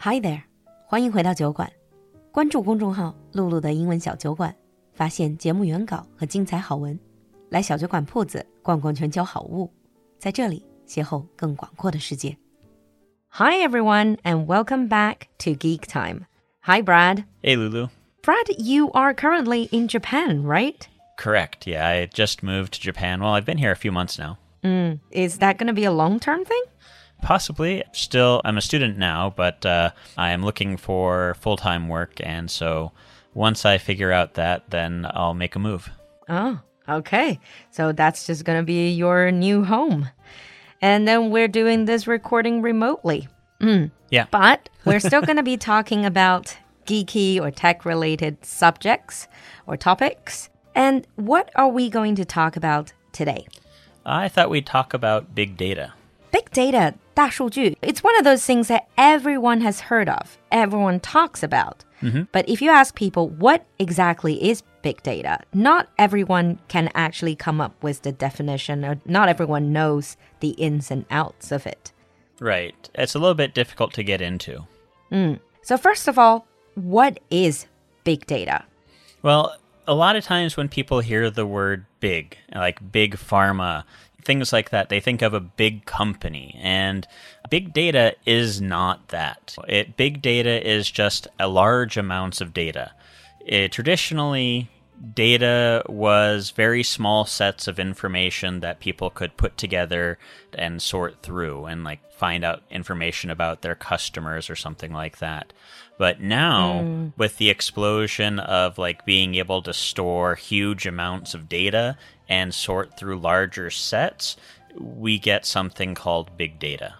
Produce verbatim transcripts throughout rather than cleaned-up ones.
Hi there， 欢迎回到酒馆。关注公众号“露露的英文小酒馆”，发现节目原稿和精彩好文。来小酒馆铺子逛逛全球好物，在这里邂逅更广阔的世界。Hi everyone, and welcome back to Geek Time. Hi Brad. Hey Lulu. Brad, you are currently in Japan, right? Correct. Yeah, I just moved to Japan. Well, I've been here a few months now. Mm, is that going to be a long-term thing? Possibly. Still, I'm a student now, but uh, I am looking for full-time work, and so once I figure out that, then I'll make a move. Oh, okay. So that's just going to be your new home. And then we're doing this recording remotely. Mm. Yeah. But we're still going to be talking about geeky or tech-related subjects or topics. And what are we going to talk about today? I thought we'd talk about big data. Big data, 大数据, it's one of those things that everyone has heard of, everyone talks about. Mm-hmm. But if you ask people what exactly is big data, not everyone can actually come up with the definition, or not everyone knows the ins and outs of it. Right. It's a little bit difficult to get into. Mm. So first of all, what is big data? Well, a lot of times when people hear the word big, like big pharma, things like that, they think of a big company, and big data is not that. It, big data is just a large amounts of data. It, traditionally, data was very small sets of information that people could put together and sort through and like find out information about their customers or something like that. But now, mm. with the explosion of like being able to store huge amounts of data and sort through larger sets, we get something called big data.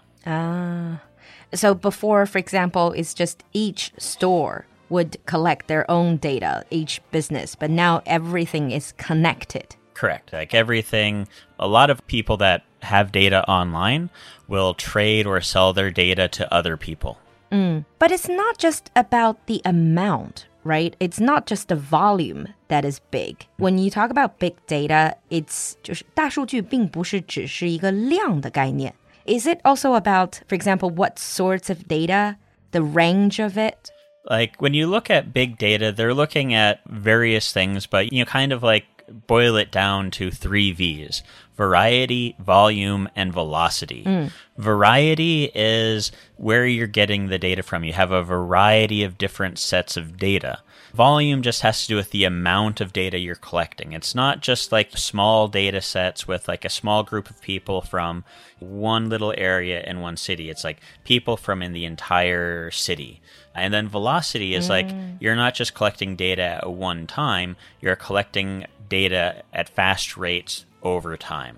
Ah. So before, for example, it's just each store would collect their own data, each business, but now everything is connected. Correct. Like everything, a lot of people that have data online will trade or sell their data to other people. Mm. But it's not just about the amount, right? It's not just the volume that is big. When you talk about big data, it's 就是大数据并不是只是一个量的概念. Is it also about, for example, what sorts of data, the range of it? Like when you look at big data, they're looking at various things, but you know, kind of like boil it down to three V's: variety, volume, and velocity. Mm. Variety is where you're getting the data from. You have a variety of different sets of data. Volume just has to do with the amount of data you're collecting. It's not just like small data sets with like a small group of people from one little area in one city. It's like people from in the entire city. And then velocity is mm. like you're not just collecting data at one time, you're collecting data at fast rates over time.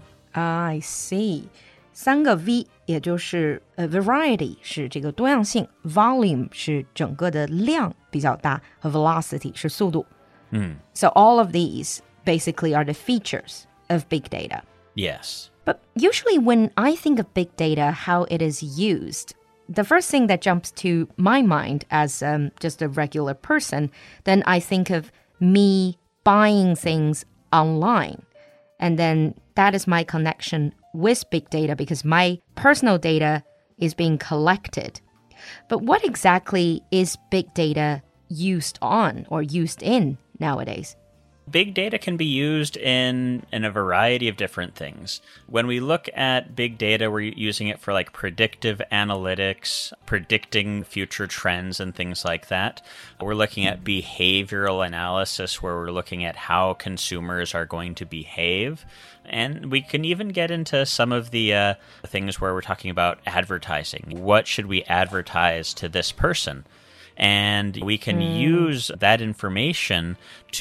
I see. 三个 V 也就是呃 variety 是这个多样性 volume 是整个的量比较大和 velocity 是速度 mm. So all of these basically are the features of big data. Yes. But usually when I think of big data, how it is used, the first thing that jumps to my mind as um, just a regular person, then I think of me buying things online. And then that is my connection with big data because my personal data is being collected. But what exactly is big data used on or used in nowadays? Big data can be used in, in a variety of different things. When we look at big data, we're using it for like predictive analytics, predicting future trends and things like that. We're looking at behavioral analysis where we're looking at how consumers are going to behave. And we can even get into some of the uh, things where we're talking about advertising. What should we advertise to this person? And we can mm. use that information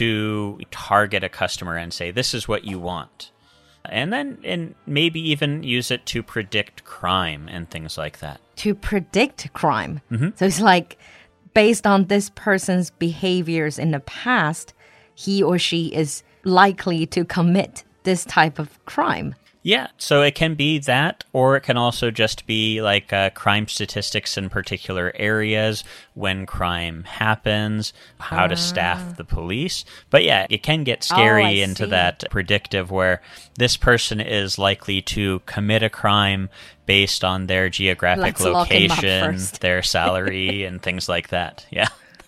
to target a customer and say, this is what you want. And then and maybe even use it to predict crime and things like that. To predict crime? Mm-hmm. So it's like, based on this person's behaviors in the past, he or she is likely to commit this type of crime. Yeah, so it can be that, or it can also just be like uh, crime statistics in particular areas, when crime happens, how to staff the police. But yeah, it can get scary oh, into see. that predictive where this person is likely to commit a crime based on their geographic Let's lock him up location, first. their salary, and things like that. Yeah.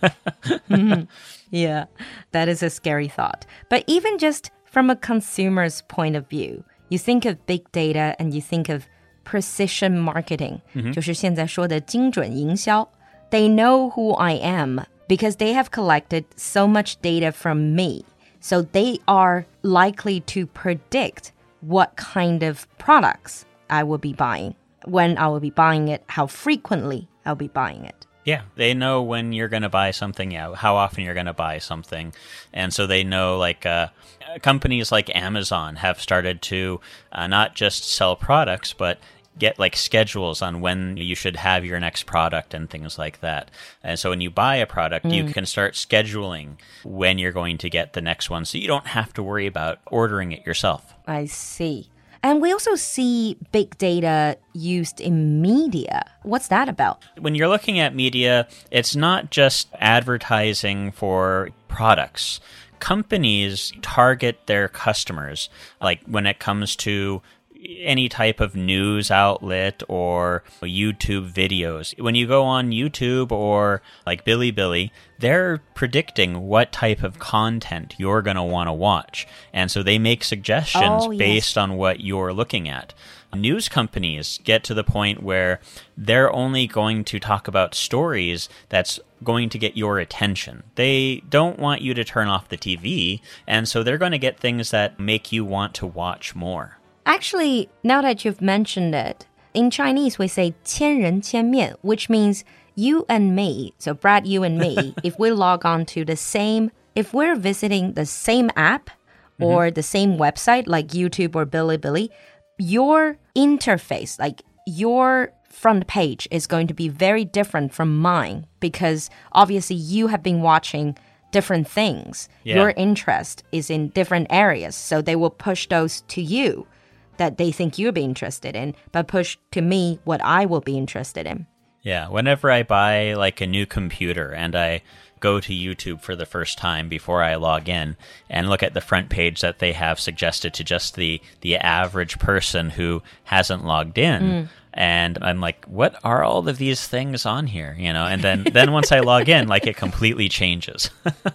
mm-hmm. Yeah, that is a scary thought. But even just from a consumer's point of view, you think of big data and you think of precision marketing, 就是现在说的精准营销. They know who I am because they have collected so much data from me. So they are likely to predict what kind of products I will be buying, when I will be buying it, how frequently I'll be buying it. Yeah, they know when you're going to buy something, yeah, how often you're going to buy something. And so they know, like, uh, companies like Amazon have started to uh, not just sell products, but get, like, schedules on when you should have your next product and things like that. And so when you buy a product, mm. you can start scheduling when you're going to get the next one, so you don't have to worry about ordering it yourself. I see. And we also see big data used in media. What's that about? When you're looking at media, it's not just advertising for products. Companies target their customers, like when it comes to any type of news outlet or YouTube videos. When you go on YouTube or like Bilibili, they're predicting what type of content you're going to want to watch. And so they make suggestions oh, yes. based on what you're looking at. News companies get to the point where they're only going to talk about stories that's going to get your attention. They don't want you to turn off the T V, and so they're going to get things that make you want to watch more. Actually, now that you've mentioned it, in Chinese we say 千人千面, which means you and me, so Brad, you and me, if we log on to the same, if we're visiting the same app or mm-hmm. the same website like YouTube or Bilibili, your interface, like your front page is going to be very different from mine because obviously you have been watching different things. Yeah. Your interest is in different areas, so they will push those to you that they think you'll be interested in, but push to me what I will be interested in. Yeah, whenever I buy like a new computer and I go to YouTube for the first time before I log in and look at the front page that they have suggested to just the, the average person who hasn't logged in, mm. and I'm like, what are all of these things on here? You know, and then, then once I log in, like it completely changes.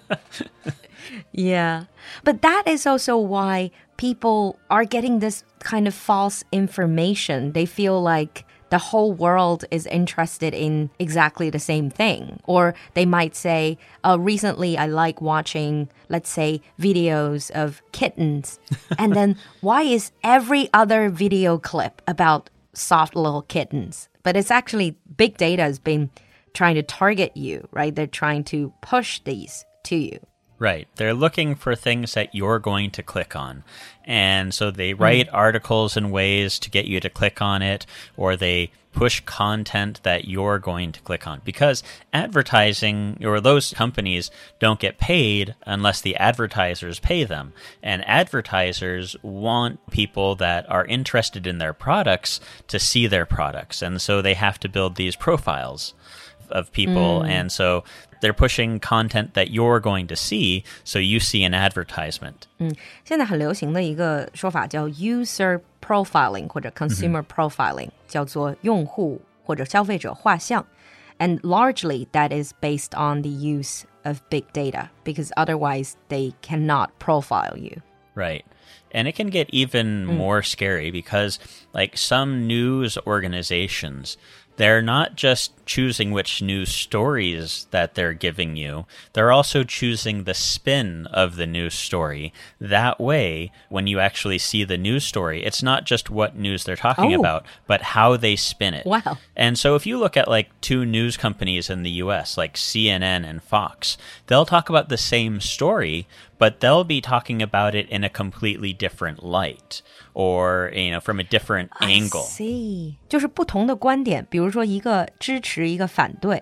Yeah, but that is also why people are getting this kind of false information. They feel like the whole world is interested in exactly the same thing. Or they might say, oh, recently I like watching, let's say, videos of kittens. And then why is every other video clip about soft little kittens? But it's actually big data has been trying to target you, right? They're trying to push these to you. Right. They're looking for things that you're going to click on. And so they write mm. articles in ways to get you to click on it, or they push content that you're going to click on. Because advertising, or those companies, don't get paid unless the advertisers pay them. And advertisers want people that are interested in their products to see their products. And so they have to build these profiles of people. Mm. And so they're pushing content that you're going to see, so you see an advertisement. 嗯，现在很流行的一个说法叫 user profiling 或者 consumer profiling， 叫做用户或者消费者画像。And largely that is based on the use of big data, because otherwise they cannot profile you. Right. And it can get even mm. more scary because, like, some news organizations, they're not just choosing which news stories that they're giving you. They're also choosing the spin of the news story. That way, when you actually see the news story, it's not just what news they're talking oh. about, but how they spin it. Wow. And so if you look at like two news companies in the U S, like C N N and Fox, they'll talk about the same story, but they'll be talking about it in a completely different light, or, you know, from a different angle. I see. 就是不同的观点，比如说一个支持一个反对。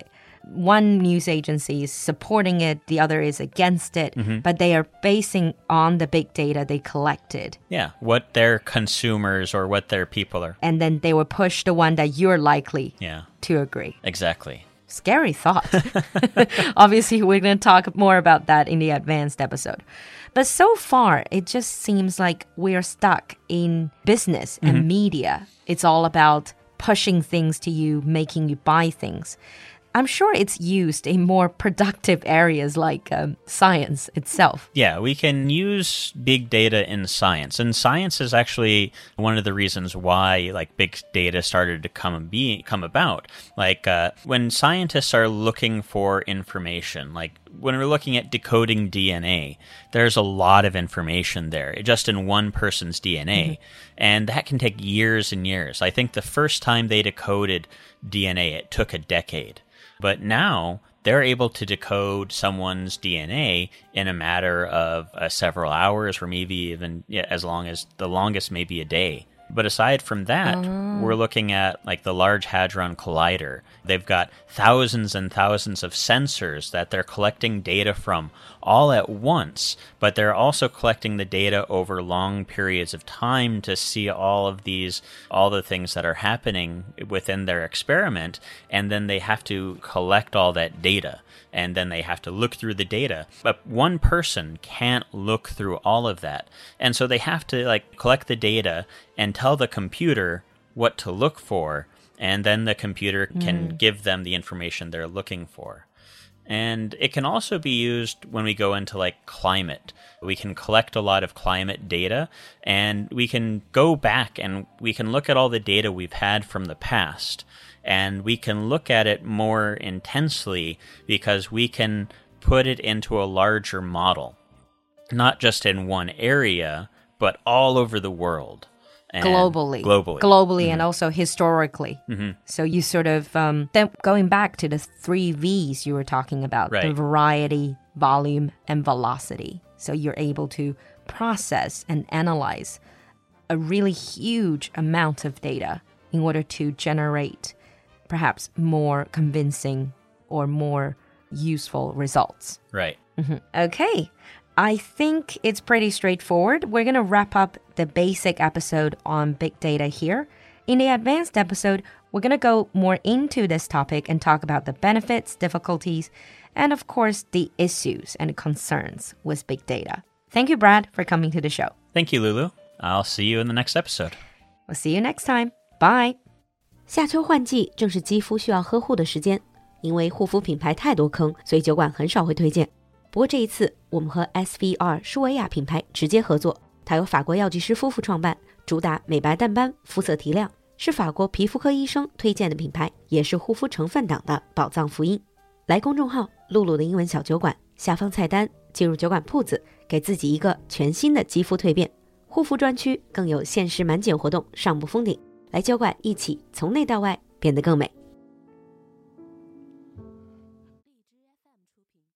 one news agency is supporting it, the other is against it, mm-hmm. but they are basing on the big data they collected. Yeah, what their consumers or what their people are. And then they will push the one that you're likely yeah. to agree. Exactly. Scary thought. Obviously, we're going to talk more about that in the advanced episode. But so far, it just seems like we're stuck in business and mm-hmm. media. It's all about pushing things to you, making you buy things. I'm sure it's used in more productive areas like um, science itself. Yeah, we can use big data in science. And science is actually one of the reasons why like big data started to come be come about. Like uh, when scientists are looking for information, like when we're looking at decoding D N A, there's a lot of information there, just in one person's D N A. Mm-hmm. And that can take years and years. I think the first time they decoded D N A, it took a decade. But now they're able to decode someone's D N A in a matter of uh, several hours, or maybe even yeah, as long as the longest maybe a day. But aside from that, oh. we're looking at like the Large Hadron Collider. They've got thousands and thousands of sensors that they're collecting data from all at once, but they're also collecting the data over long periods of time to see all of these, all the things that are happening within their experiment, and then they have to collect all that data. And then they have to look through the data. But one person can't look through all of that. And so they have to like collect the data and tell the computer what to look for, and then the computer can mm. give them the information they're looking for. And it can also be used when we go into like climate. We can collect a lot of climate data, and we can go back and we can look at all the data we've had from the past. And we can look at it more intensely because we can put it into a larger model, not just in one area, but all over the world. And globally. Globally. Globally mm-hmm. and also historically. Mm-hmm. So you sort of, um, then going back to the three V's you were talking about, right. the variety, volume, and velocity. So you're able to process and analyze a really huge amount of data in order to generate perhaps more convincing or more useful results. Right. Mm-hmm. Okay. I think it's pretty straightforward. We're going to wrap up the basic episode on big data here. In the advanced episode, we're going to go more into this topic and talk about the benefits, difficulties, and of course, the issues and concerns with big data. Thank you, Brad, for coming to the show. Thank you, Lulu. I'll see you in the next episode. We'll see you next time. Bye. 夏秋换季正是肌肤需要呵护的时间，因为护肤品牌太多坑，所以酒馆很少会推荐。不过这一次，我们和 S V R 舒维亚品牌直接合作，它由法国药剂师夫妇创办，主打美白淡斑、肤色提亮，是法国皮肤科医生推荐的品牌，也是护肤成分党的宝藏福音。来公众号露露的英文小酒馆，下方菜单进入酒馆铺子，给自己一个全新的肌肤蜕变。护肤专区更有限时满减活动上不封顶。来酒馆一起从内到外变得更美。